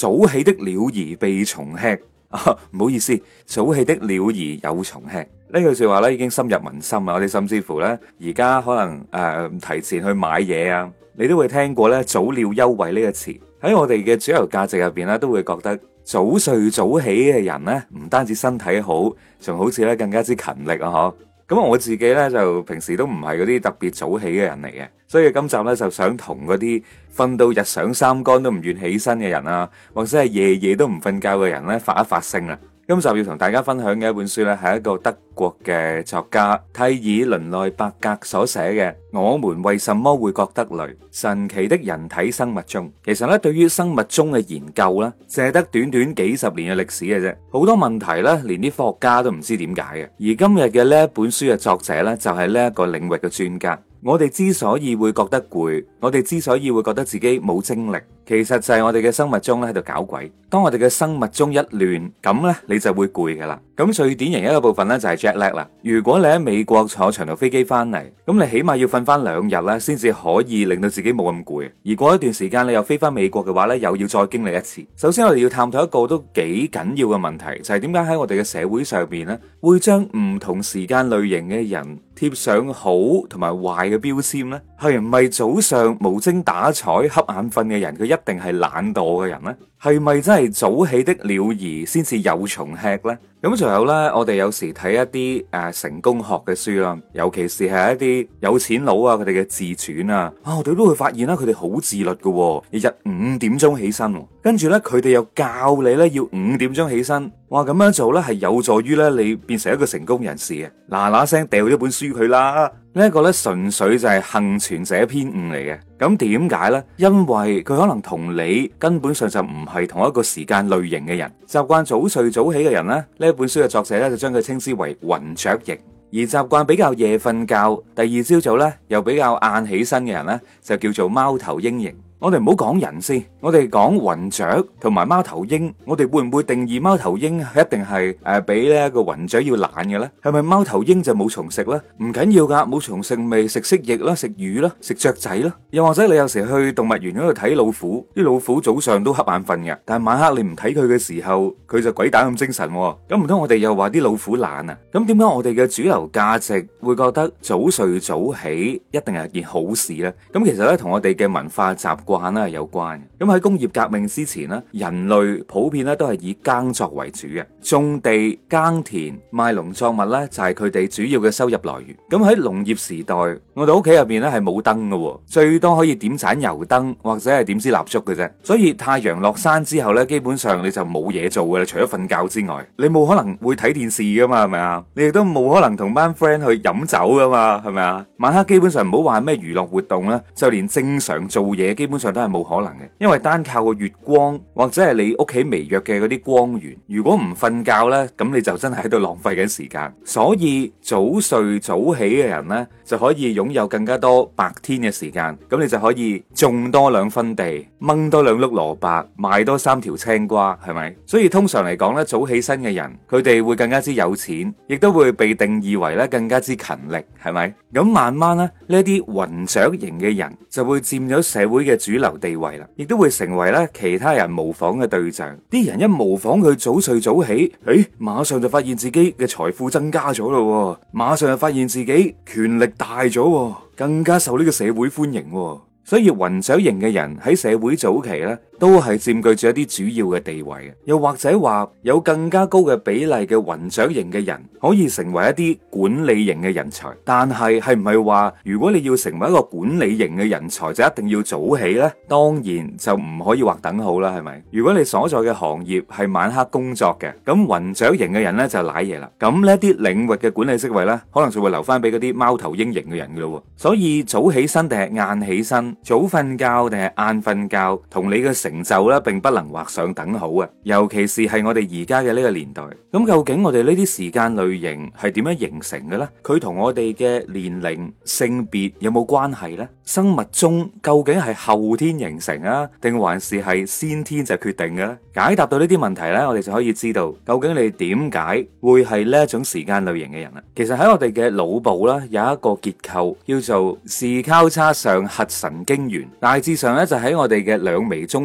早起的鳥兒被蟲吃。唔好意思，早起的鳥兒有蟲吃。呢句說話咧已經深入民心啊！我哋甚至乎咧而家可能提前去買嘢啊，你都會聽過咧早鳥優惠呢個詞。喺我哋嘅主流價值入邊咧，都會覺得早睡早起嘅人咧，唔單止身體好，仲好似咧更加之勤力啊！嗬。咁我自己咧就平時都唔係嗰啲特別早起嘅人嚟嘅，所以今集咧就想同嗰啲瞓到日上三竿都唔願起身嘅人啊，或者係夜夜都唔瞓覺嘅人咧發一發聲啦。今集要同大家分享嘅一本書咧，係一個德國嘅作家蒂爾倫內伯格所寫嘅《我們為什麼會覺得累？神奇的人體生物鐘》。其實咧，對於生物鐘嘅研究咧，淨係得短短幾十年嘅歷史嘅啫，好多問題咧，連啲科學家都唔知點解嘅。而今日嘅呢一本書嘅作者咧，就係呢一個領域嘅專家。我哋之所以會覺得攰，我哋之所以會覺得自己冇精力，其實就係我哋嘅生物鐘咧喺度搞鬼。當我哋嘅生物鐘一亂，咁咧你就會攰噶啦。咁最典型一個部分咧就係 jet lag 啦。如果你喺美國坐長途飛機翻嚟，咁你起碼要瞓翻2日咧，先至可以令到自己冇咁攰。而過一段時間你又飛翻美國嘅話咧，又要再經歷一次。首先我哋要探討一個都幾緊要嘅問題，就係點解喺我哋嘅社會上邊咧，會將唔同時間類型嘅人貼上好同埋壞嘅標籤呢？係唔係早上無精打采、瞌眼瞓嘅人，佢一定係懶惰嘅人呢？係咪真係早起的鳥兒先至有蟲吃呢？咁仲有呢，我哋有時睇一啲成功學嘅書啦，尤其是係一啲有錢佬啊，佢哋嘅自傳啊，我哋都會發現啦，佢哋好自律嘅，日日5點鐘起身，跟住呢，佢哋又教你呢要5點鐘起身，哇咁樣做呢係有助於呢你變成一個成功人士嘅，嗱嗱聲掉咗本書佢啦。呢一個咧純粹就係幸存者偏誤嚟嘅。咁點解呢？因為佢可能同你根本上就唔係同一個時間類型嘅人。習慣早睡早起嘅人呢，呢一本書嘅作者咧就將佢稱之為雲雀型。而習慣比較夜瞓覺，第二朝早咧又比較晏起身嘅人呢，就叫做貓頭鷹型。我哋唔好講人先，我哋講雲雀同埋貓頭鷹，我哋會唔會定義貓頭鷹一定係比呢一個雲雀要懶嘅咧？係咪貓頭鷹就冇蟲食咧？唔緊要噶，冇蟲食咪食蜥蜴啦，食魚啦，食雀仔啦。又或者你有時去動物園嗰度睇老虎，啲老虎早上都瞌眼瞓嘅，但係晚黑你唔睇佢嘅時候，佢就鬼打咁精神。咁唔通我哋又話啲老虎懶啊？咁點解我哋嘅主流價值會覺得早睡早起一定係件好事咧？咁其實咧同我哋嘅文化習慣係有關嘅。咁喺工業革命之前咧，人類普遍咧都係以耕作為主嘅，種地、耕田、賣農作物咧就係佢哋主要嘅收入來源。咁喺農業時代，我哋屋企入邊咧係冇燈嘅，最多可以點盞油燈或者係點支蠟燭嘅啫。所以太陽落山之後咧，基本上你就冇嘢做嘅啦，除咗瞓覺之外，你冇可能會睇電視噶嘛，係咪啊？你亦都冇可能同班 friend 去飲酒噶嘛，係咪啊？晚黑基本上唔好話咩娛樂活動啦，就連正常做嘢基本上都係冇可能嘅，因為單靠個月光或者係你屋企微弱嘅嗰啲光源，如果唔瞓覺呢，咁你就真係喺度浪費緊時間。所以早睡早起嘅人呢，就可以擁有更加多白天嘅時間，咁你就可以種多2分地，掹多2碌蘿蔔，賣多3條青瓜，係咪？所以通常嚟講呢，早起身嘅人，佢哋會更加之有錢，亦都會被定義為咧更加之勤力，係咪？咁慢慢呢，呢啲雲雀型嘅人就會佔咗社會嘅主流地位啦，亦都會成為咧其他人模仿嘅對象。啲人一模仿佢早睡早起，馬上就發現自己嘅財富增加咗咯，馬上就發現自己權力大咗，更加受呢個社會歡迎。所以雲雀型嘅人喺社會早期咧，都係佔據住一啲主要嘅地位嘅。又或者話有更加高嘅比例嘅雲雀型嘅人可以成為一啲管理型嘅人才。但係係唔係話如果你要成為一個管理型嘅人才就一定要早起呢？當然就唔可以劃等號啦，係咪？如果你所在嘅行業係晚黑工作嘅，咁雲雀型嘅人呢就瀨嘢啦。咁呢啲領域嘅管理職位呢，可能就會留翻俾嗰啲貓頭鷹型嘅人噶咯。所以早起身定係晏起身，早瞓覺定係晏瞓覺，同你嘅成就咧，並不能畫上等號啊！尤其是係我哋而家嘅呢個年代。咁究竟我哋呢啲時間類型係點樣形成嘅咧？佢同我哋嘅年齡、性別有冇關係咧？生物鐘究竟係後天形成啊，定還是係先天就決定嘅咧？解答到呢啲問題咧，我哋就可以知道究竟你點解會係呢一種時間類型嘅人啦。其實喺我哋嘅腦部啦，有一個結構叫做視交叉上核神經元，大致上咧就喺我哋嘅兩眉中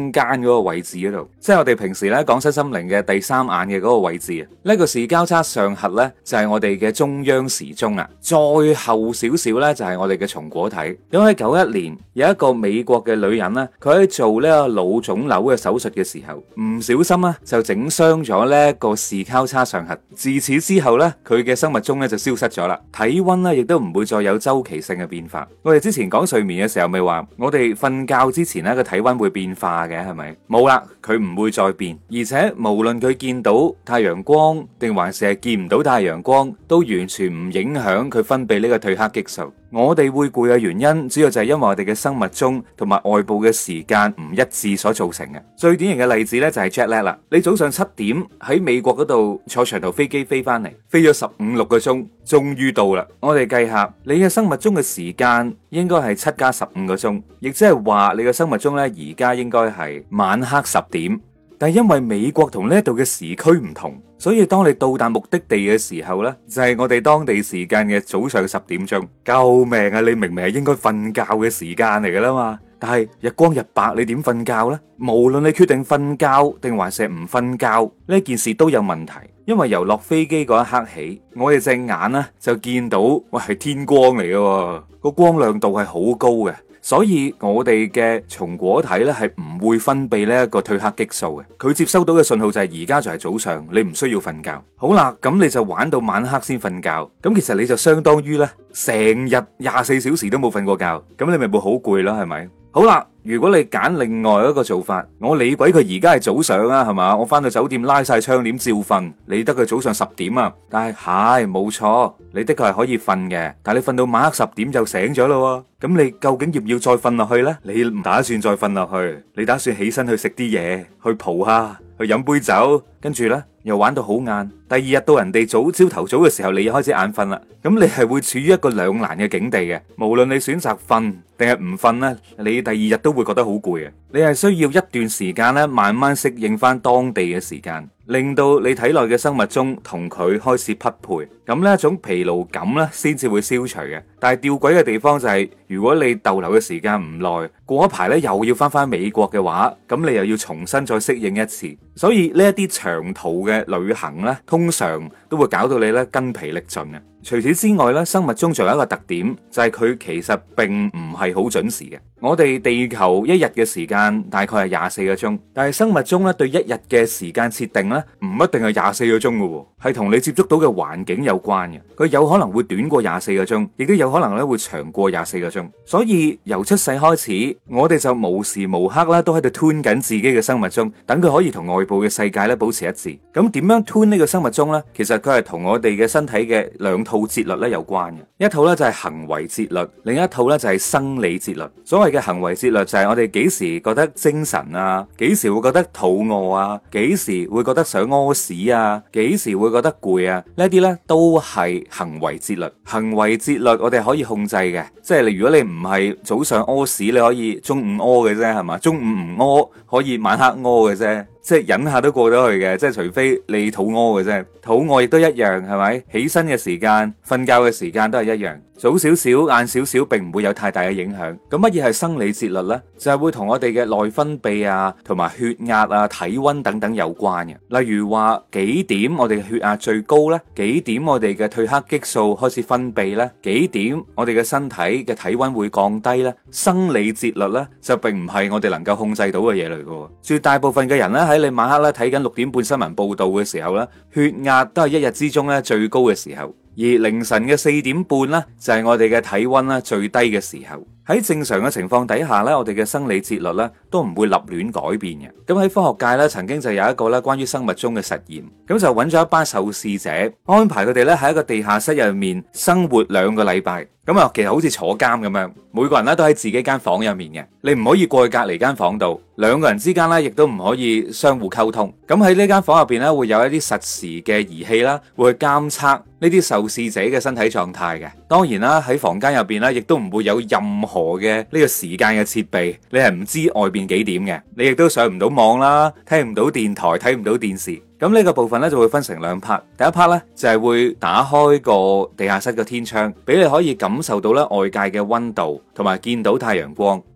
中間嗰個位置嗰度，即係我哋平時咧講身心靈嘅第三眼嘅嗰個位置啊。呢個視交叉上核咧就係我哋嘅中央時鐘啦。再後少少咧就係我哋嘅松果體。咁喺91年有一個美國嘅女人咧，佢喺做呢個腦腫瘤嘅手術嘅時候，唔小心咧就整傷咗呢個視交叉上核。自此之後咧，佢嘅生物鐘咧就消失咗啦，體溫咧亦都唔會再有周期性嘅變化。我哋之前講睡眠嘅時候咪話，我哋瞓覺之前咧個體溫會變化嘅，係咪？冇啦，佢唔會再變，而且無論佢見到太陽光定還是係見唔到太陽光，都完全唔影響佢分泌呢個褪黑激素。我哋會攰嘅原因，主要就係因為我哋嘅生物鐘同埋外部嘅時間唔一致所造成嘅。最典型嘅例子呢，就係 jet lag 啦。你早上7點喺美國嗰度坐長途飛機飛翻嚟，飛咗15-16個鐘，終於到啦。我哋計下，你嘅生物鐘嘅時間應該係7加15個鐘，亦即係話你嘅生物鐘呢，而家應該係晚黑10點。但係因為美國同呢度嘅時區唔同，所以當你到達目的地嘅時候呢，就係我哋當地時間嘅早上10點鐘。救命啊！你明明係應該瞓覺嘅時間嚟噶啦嘛，但係日光日白，你點瞓覺呢？無論你決定瞓覺定還是唔瞓覺，呢件事都有問題。因為由落飛機嗰一刻起，我哋隻眼呢就見到，喂，係天光嚟嘅，個光亮度係好高嘅。所以我哋嘅松果體咧係唔會分泌呢一個褪黑激素嘅，佢接收到嘅信號就係而家就係早上，你唔需要瞓覺。好啦，咁你就玩到晚黑先瞓覺，咁其實你就相當於咧成日24小時都冇瞓過覺，咁你咪會好攰啦，係咪？好啦，如果你揀另外一個做法，我理鬼佢而家係早上啊，係嘛？我翻到酒店拉晒窗簾照瞓，理得佢早上10點啊。但係冇錯，你的確係可以瞓嘅，但係你瞓到晚黑10點就醒咗咯。咁你究竟要唔要再瞓落去呢？你唔打算再瞓落去，你打算起身去食啲嘢，去蒲下，去飲杯酒，跟住呢又玩到好晏。第二日到人哋朝頭早嘅時候，你又開始眼瞓啦。咁你係會處於一個兩難嘅境地嘅。無論你選擇瞓定係唔瞓呢，你第二日都會覺得好攰嘅。你係需要一段時間咧，慢慢適應翻當地嘅時間，令到你體內嘅生物鐘同佢開始匹配。咁呢一種疲勞感咧，先至會消除嘅。但係吊詭嘅地方就係，如果你逗留嘅時間唔耐，過一排咧又要翻美國嘅話，咁你又要重新再適應一次。所以呢一啲長途嘅旅行咧，通常都會搞到你咧筋疲力盡嘅。除此之外咧，生物鐘仲有一個特點，就係佢其實並唔係好準時嘅。我哋地球一日嘅時間大概係24個鐘，但係生物鐘咧對一日嘅時間設定咧唔一定係24個鐘嘅，係同你接觸到嘅環境有關嘅。佢有可能會短過24個鐘，亦都有可能咧會長過24個鐘。所以由出世開始，我哋就無時無刻咧都喺度 tune 緊自己嘅生物鐘，等佢可以同外部嘅世界咧保持一致。咁點樣 tune呢個生物鐘呢？其實佢係同我哋嘅身體嘅兩套節律咧有關嘅。一套咧就係行為節律，另一套咧就係生理節律。所謂嘅行為節律就係我哋幾時覺得精神啊，幾時會覺得肚餓啊，幾時會覺得想屙屎啊，幾時會覺得攰啊，呢啲咧都係行為節律。行為節律我哋可以控制嘅，即係如果你唔係早上屙屎，你可以中午屙嘅啫，係嘛？中午唔屙可以晚黑屙嘅啫。即係忍下都過得去嘅，即係除非你肚餓嘅啫，肚餓亦都一樣，係咪？起身嘅時間、瞓覺嘅時間都係一樣，早少少、晏少少，並唔會有太大嘅影響。咁乜嘢係生理節律呢？就係會同我哋嘅內分泌啊、同埋血壓啊、體溫等等有關嘅。例如話幾點我哋嘅血壓最高呢？幾點我哋嘅褪黑激素開始分泌呢？幾點我哋嘅身體嘅體溫會降低呢？生理節律呢，就並唔係我哋能夠控制到嘅嘢嚟嘅。絕大部分嘅人咧喺你晚黑咧睇緊6點半新聞報道嘅時候咧，血壓都係一日之中咧最高嘅時候，而凌晨嘅4點半咧就係我哋嘅體溫咧最低嘅時候。喺正常嘅情況底下咧，我哋嘅生理節律咧都唔會立亂改變嘅。咁喺科學界咧，曾經就有一個咧關於生物鐘嘅實驗，咁就揾咗一班受試者，安排佢哋咧喺一個地下室入面生活2個禮拜。咁啊，其實好似坐監咁樣，每個人咧都喺自己間房入面嘅，你唔可以過去隔離間房度，2個人之間咧亦都唔可以相互溝通。咁喺呢間房入邊咧，會有一啲實時嘅儀器啦，會去監測呢啲受試者嘅身體狀態嘅。當然啦，喺房間入邊咧，亦都唔會有任何嘅呢個時間嘅設備，你係唔知外邊幾點嘅，你亦都上唔到網啦，聽唔到電台，睇唔到電視。咁呢個部分咧就會分成2 part，第一 part 咧就係會打開個地下室嘅天窗，俾你可以感受到咧外界嘅溫度，同埋見到太陽光。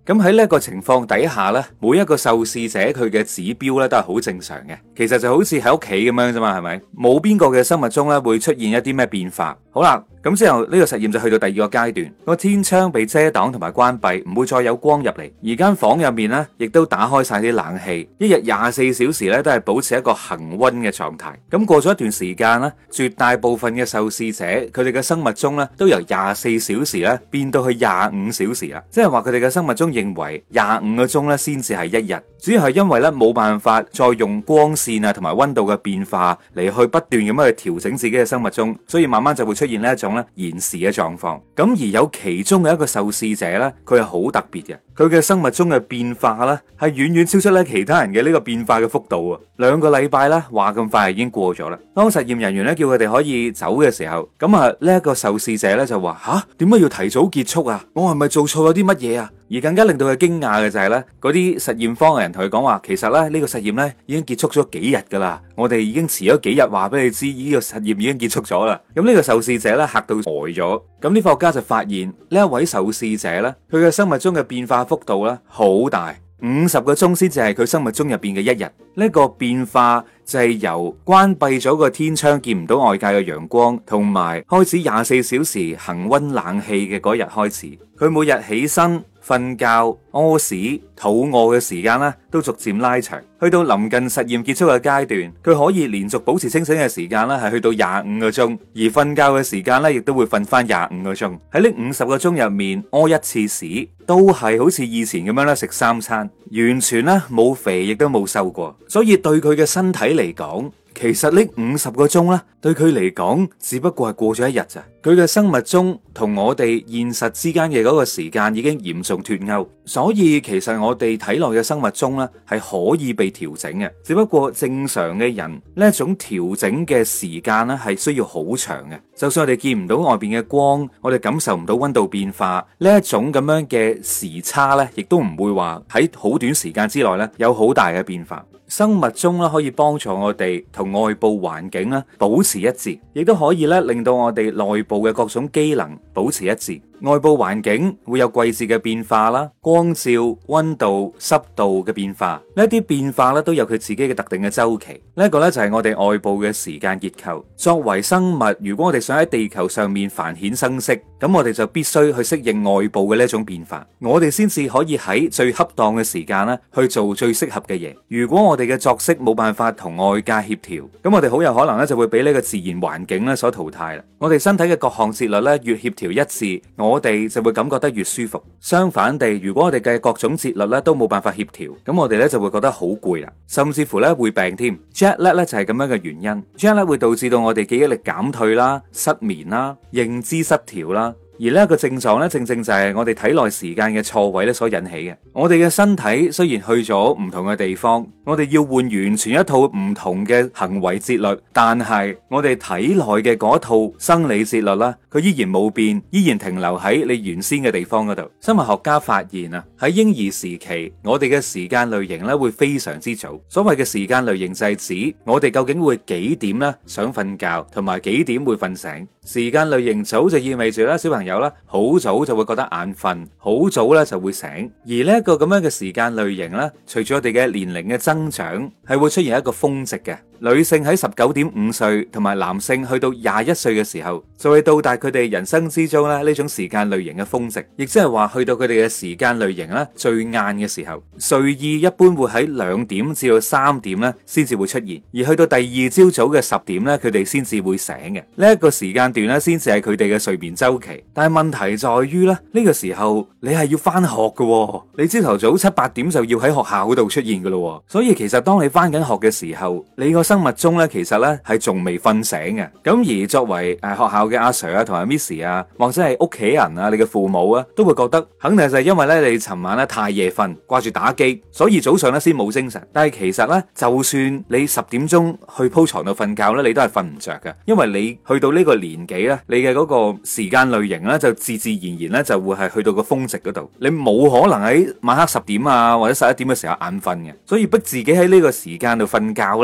咁喺呢一個情況底下咧，每一個受試者佢嘅指標咧都係好正常嘅。其實就好似喺屋企咁樣啫嘛，係咪？冇邊個嘅生物鐘咧會出現一啲咩變化。好啦，咁之後呢個實驗就去到第二個階段，個天窗被遮擋同埋關閉，唔會再有光入嚟。而間房入面咧，亦都打開晒啲冷氣，一日24小時咧都係保持一個恒溫嘅狀態。咁過咗一段時間咧，絕大部分嘅受試者佢哋嘅生物鐘咧都由24小時咧變到去25小時啦，即係話佢哋嘅生物鐘認為25個鐘咧先至係一日。主要係因為咧冇辦法再用光線啊同埋溫度嘅變化嚟去不斷咁樣去調整自己嘅生物鐘，所以慢慢就會出現呢一種咧延時嘅狀況。咁而有其中嘅一個受試者咧，佢係好特別嘅，佢嘅生物鐘嘅變化咧係遠遠超出咧其他人嘅呢個變化嘅幅度啊！2個禮拜咧話咁快已經過咗啦。當實驗人員咧叫佢哋可以走嘅時候，咁啊呢一個受試者咧就話：吓，點解要提早結束啊？我係咪做錯咗啲乜嘢啊？而更加令到佢驚訝嘅就係咧，嗰啲實驗方嘅人同佢講話，其實咧呢個實驗咧已經結束咗幾日噶啦，我哋已經遲咗幾日話俾你知呢個實驗已經結束咗啦。咁呢個受試者咧嚇到呆咗。咁啲科學家就發現呢一位受試者咧，佢嘅生物鐘嘅變化幅度咧好大，50個鐘先至係佢生物鐘入邊嘅一日。呢個變化就係由關閉咗個天窗見唔到外界嘅陽光，同埋開始24小時恒溫冷氣嘅嗰日開始。佢每日起身、瞓覺、屙屎、肚餓嘅時間咧，都逐漸拉長。去到臨近實驗結束嘅階段，佢可以連續保持清醒嘅時間咧，係去到25個鐘，而瞓覺嘅時間咧，亦都會瞓翻25個鐘。喺呢50個鐘入面，屙一次屎都係好似以前咁樣咧食3餐，完全咧冇肥亦都冇瘦過。所以對佢嘅身體嚟講，其實呢50個鐘咧，對佢嚟講只不過係過咗一日咋。佢嘅生物鐘同我哋現實之間嘅嗰個時間已經嚴重脫鈎，所以其實我哋體內嘅生物鐘咧係可以被調整嘅，只不過正常嘅人呢一種調整嘅時間咧係需要好長嘅。就算我哋見唔到外邊嘅光，我哋感受唔到溫度變化，呢一種咁樣嘅時差咧，亦都唔會話喺好短時間之內咧有好大嘅變化。生物鐘咧可以幫助我哋同外部環境咧保持一致，亦都可以咧令到我哋內部嘅各種機能保持一致。外部環境會有季節嘅變化啦，光照、溫度、濕度嘅變化，呢啲變化咧都有佢自己嘅特定嘅周期。呢一個咧就係我哋外部嘅時間結構。作為生物，如果我哋想喺地球上面繁衍生息，咁我哋就必須去適應外部嘅呢一種變化，我哋先至可以喺最恰當嘅時間咧去做最適合嘅嘢。如果我哋嘅作息冇辦法同外界協調，咁我哋好有可能咧就會俾呢個自然環境咧所淘汰啦。我哋身體嘅各項節律咧越協調一致，我哋就會感覺得越舒服。相反地，如果我哋嘅各種節律咧都冇辦法協調，咁我哋咧就會覺得好攰啦，甚至乎咧會病添。Jet lag 咧就係咁樣嘅原因。Jet lag 會導致到我哋記憶力減退啦、失眠啦、認知失調啦。而呢一個症狀咧，正正就係我哋體內時間嘅錯位咧所引起嘅。我哋嘅身體雖然去咗唔同嘅地方，我哋要換完全一套唔同嘅行為節律，但係我哋體內嘅嗰套生理節律啦，佢依然冇變，依然停留喺你原先嘅地方嗰度。生物學家發現啊，喺嬰兒時期，我哋嘅時間類型咧會非常之早。所謂嘅時間類型就係指我哋究竟會幾點咧想瞓覺，同埋幾點會瞓醒。時間類型早就意味住咧，小朋友咧好早就會覺得眼瞓，好早咧就會醒。而呢一個咁樣嘅時間類型咧，隨住我哋嘅年齡嘅增長，係會出現一個峰值嘅。女性喺19.5歲，同埋男性去到21歲嘅時候，就會到達佢哋人生之中咧呢種時間類型嘅峰值，亦即係話去到佢哋嘅時間類型咧最晏嘅時候。睡意一般會喺2點至到3點咧先至會出現，而去到第二朝早嘅10點咧，佢哋先至會醒嘅。呢一個時間段咧，先至係佢哋嘅睡眠周期。但係問題在於咧，呢個時候你係要翻學嘅，你朝頭早7、8點就要喺學校嗰度出現噶咯。所以其實當你翻緊學嘅時候，你個生物鐘咧其實咧係仲未瞓醒嘅。咁而作為學校嘅阿 Sir 啊同埋 Miss 啊，或者係屋企人啊，你嘅父母啊，都會覺得肯定就係因為咧你尋晚咧太夜瞓，掛住打機，所以早上咧先冇精神。但係其實咧，就算你10點鐘去鋪床度瞓覺咧，你都係瞓唔着嘅，因為你去到呢個年紀咧，你嘅嗰個時間類型咧就自自然然咧就會係去到個峰值嗰度，你冇可能喺晚黑10點啊或者11點嘅時候眼瞓嘅，所以逼自己喺呢個時間度瞓覺咧，其實係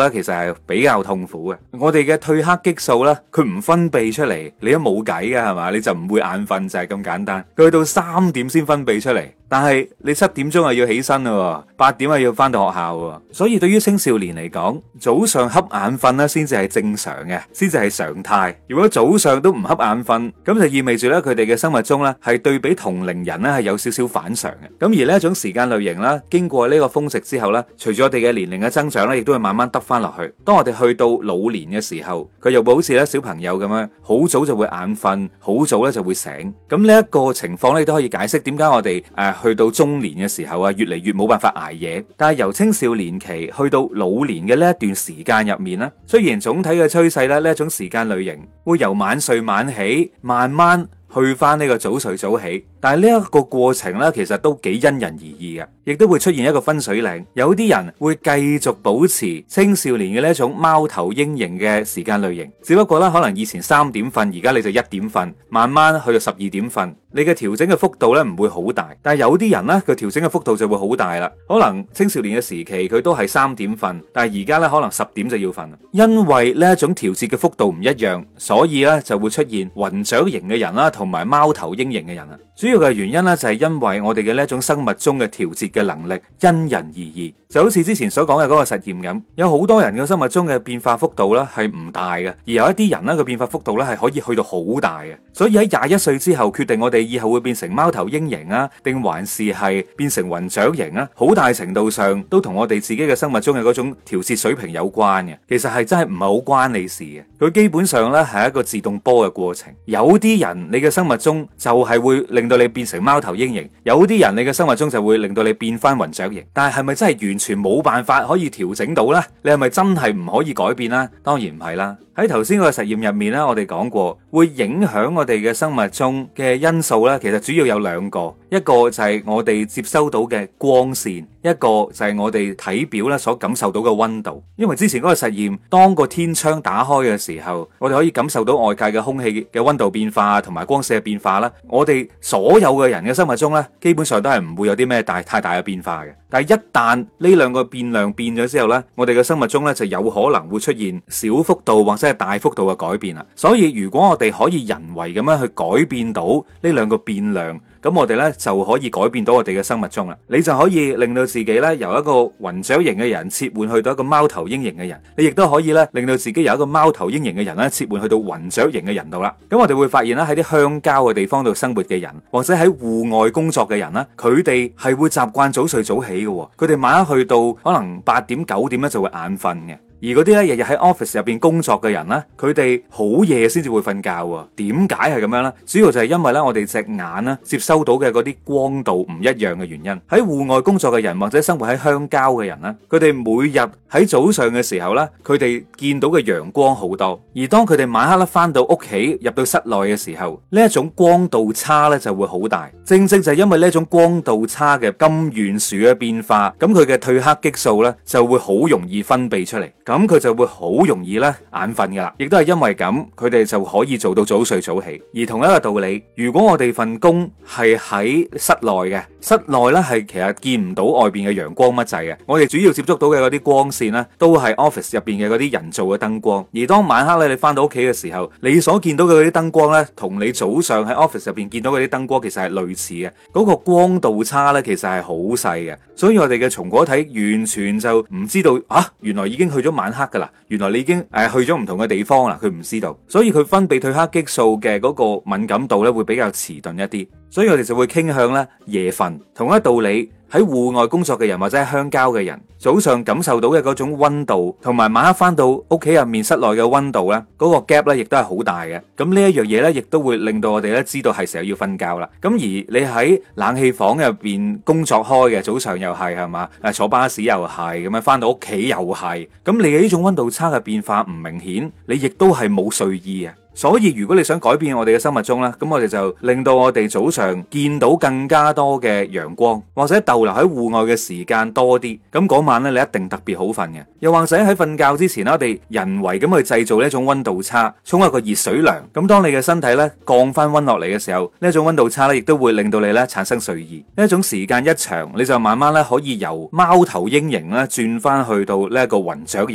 係比較痛苦嘅。我哋嘅褪黑激素咧，佢唔分泌出嚟，你都冇計噶係嘛，你就唔會眼瞓就係咁簡單。佢去到3點先分泌出嚟，但係你7點鐘要起身啦，8點要翻到學校。所以對於青少年嚟講，早上瞌眼瞓咧先至係正常嘅，先至係常態。如果早上都唔瞌眼瞓，咁就意味住咧佢哋嘅生物鐘咧係對比同齡人咧係有少少反常嘅。咁而呢一種時間類型啦，經過呢個峰值之後咧，隨住我哋嘅年齡嘅增長咧，亦都會慢慢得翻落去。當我哋去到老年嘅時候，佢又會好似咧小朋友咁樣，好早就會眼瞓，好早咧就會醒。咁呢一個情況咧都可以解釋點解我哋去到中年嘅時候啊，越嚟越冇辦法捱夜。但係由青少年期去到老年嘅呢一段時間入面咧，雖然總體嘅趨勢咧呢一種時間類型會由晚睡晚起慢慢去翻呢個早睡早起，但係呢一個過程咧，其實都幾因人而異嘅，亦都會出現一個分水嶺。有啲人會繼續保持青少年嘅呢一種貓頭鷹型嘅時間類型，只不過咧可能以前3點瞓，而家你就1點瞓，慢慢去到12點瞓。你嘅調整嘅幅度咧唔會好大，但係有啲人咧佢調整嘅幅度就會好大啦。可能青少年嘅時期佢都係3點瞓，但係而家咧可能10點就要瞓。因為呢一種調節嘅幅度唔一樣，所以咧就會出現雲雀型嘅人啦，同埋貓頭鷹型嘅人啊。主要嘅原因咧就係因為我哋嘅呢一種生物鐘嘅調節嘅能力因人而異。就好似之前所講嘅嗰個實驗咁，有好多人嘅生物鐘嘅變化幅度咧係唔大嘅，而有一啲人咧個變化幅度咧係可以去到好大嘅。所以喺21歲之後決定我哋以後會變成貓頭鷹型啊，定還是係變成雲雀型啊，好大程度上都同我哋自己嘅生物鐘嘅嗰種調節水平有關嘅。其實係真係唔係好關你事嘅，佢基本上咧係一個自動波嘅過程。有啲人你嘅生物鐘就係會令到你變成貓頭鷹型，有啲人你嘅生物鐘就會令到你變翻雲雀型。但係係咪真係完全冇辦法可以調整到呢？你係咪真係唔可以改變呢？當然唔係啦。喺頭先個實驗入面咧，我哋講過會影響我哋嘅生物鐘嘅因素咧，其實主要有2個，一個就係我哋接收到嘅光線，一個就係我哋體表咧所感受到嘅溫度。因為之前嗰個實驗，當個天窗打開嘅時候，我哋可以感受到外界嘅空氣嘅溫度變化同埋光線嘅變化啦。我哋所有嘅人嘅生物鐘咧，基本上都係唔會有啲咩太大嘅變化嘅。但係一旦呢2個變量變咗之後咧，我哋嘅生物鐘咧就有可能會出現小幅度或者係大幅度嘅改變啦。所以如果我哋可以人為咁樣去改變到呢2個變量，咁我哋咧就可以改變到我哋嘅生物鐘啦。你就可以令到自己咧由一個雲雀型嘅人切換去到一個貓頭鷹型嘅人，你亦都可以咧令到自己由一個貓頭鷹型嘅人咧切換去到雲雀型嘅人度啦。咁我哋會發現咧喺啲鄉郊嘅地方度生活嘅人，或者喺戶外工作嘅人咧，佢哋係會習慣早睡早起嘅。佢哋晚黑去到可能8點9點咧就會眼瞓嘅。而嗰啲咧日日喺 office 入邊工作嘅人咧，佢哋好夜先至會瞓覺啊。點解係咁樣呢？主要就係因為咧我哋隻眼咧接收到嘅嗰啲光度唔一樣嘅原因。喺戶外工作嘅人或者生活喺鄉郊嘅人咧，佢哋每日喺早上嘅時候咧，佢哋見到嘅陽光好多。而當佢哋晚黑咧翻到屋企入到室內嘅時候，呢一種光度差咧就會好大。正正就係因為呢一種光度差嘅咁懸殊嘅變化，咁佢嘅褪黑激素咧就會好容易分泌出嚟。咁佢就會好容易咧眼瞓噶啦，亦都係因為咁，佢哋就可以做到早睡早起。而同一個道理，如果我哋份工係喺室內嘅，室內咧係其實見唔到外邊嘅陽光乜滯嘅，我哋主要接觸到嘅嗰啲光線咧，都係 office 入邊嘅嗰啲人造嘅燈光。而當晚黑咧你翻到屋企嘅時候，你所見到嘅嗰啲燈光咧，同你早上喺 office 入邊見到嗰啲燈光其實係類似嘅，嗰個光度差咧其實係好細嘅。所以我哋嘅松果體完全就唔知道啊，原來已經去咗晚黑噶啦，原來你已經去咗唔同嘅地方啦，佢唔知道，所以佢分泌褪黑激素嘅嗰個敏感度咧會比較遲鈍一啲，所以我哋就會傾向咧夜瞓。同一道理，喺戶外工作嘅人或者喺鄉郊嘅人，早上感受到嘅嗰種溫度，同埋晚黑翻到屋企入面室內嘅溫度咧，嗰個 gap 咧亦都係好大嘅。咁呢一樣嘢咧，亦都會令到我哋咧知道係時候要瞓覺啦。咁而你喺冷氣房入邊工作開嘅，早上又係嘛，坐巴士又係咁樣，翻到屋企又係，咁你嘅呢種溫度差嘅變化唔明顯，你亦都係冇睡意啊。所以如果你想改變我哋嘅生物鐘咧，咁我哋就令到我哋早上見到更加多嘅陽光，或者逗留喺戶外嘅時間多啲，咁嗰晚咧你一定特別好瞓嘅。又或者喺瞓覺之前啦，我哋人為咁去製造呢一種溫度差，沖一個熱水涼，咁當你嘅身體咧降翻溫落嚟嘅時候，呢一種溫度差咧亦都會令到你咧產生睡意。呢一種時間一長，你就慢慢咧可以由貓頭鷹型咧轉翻去到呢一個雲雀型啦。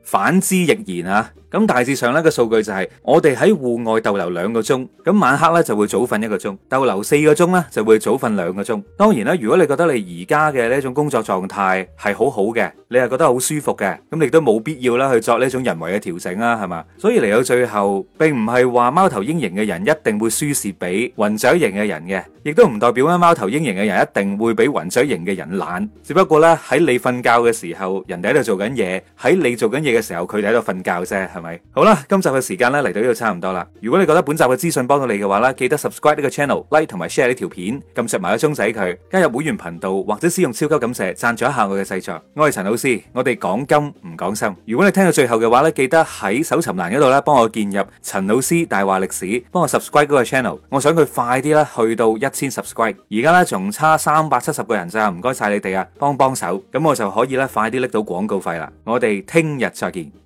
反之亦然啊。咁大致上呢個數據就係我哋喺戶外逗留2個鐘，咁晚黑呢就會早瞓1個鐘，逗留4個鐘呢就會早瞓2個鐘。當然啦，如果你覺得你而家嘅呢種工作狀態係好好嘅，你係覺得好舒服嘅，咁你都冇必要啦去作呢種人為嘅調整啦，係嘛？所以嚟到最後，並唔係話貓頭鷹型嘅人一定會輸蝕俾雲雀型嘅人嘅，亦都唔代表咧貓頭鷹型嘅人一定會比雲雀型嘅人懶。只不過呢，喺你瞓覺嘅時候，人哋喺度做緊嘢；喺你做緊嘢嘅時候，佢哋喺度瞓覺啫，係咪？好啦，今集嘅時間咧嚟到呢度差唔多啦。如果你覺得本集嘅資訊幫到你嘅話咧，記得 subscribe 呢個 channel、like 同埋 share 呢條片，撳實埋個鐘仔佢，加入會員頻道或者使用超級感謝贊助一下我嘅製作。我係陳老師，我哋講金唔講心。如果你聽到最後嘅話咧，記得喺搜尋欄嗰度咧幫我建入陳老師大話歷史，幫我 subscribe 嗰個 channel。我想佢快啲啦，去到1000 subscribe。而家咧仲差370個人咋，唔該晒你哋啊，幫幫手，咁我就可以咧快啲拎到廣告費啦。我哋聽日再見。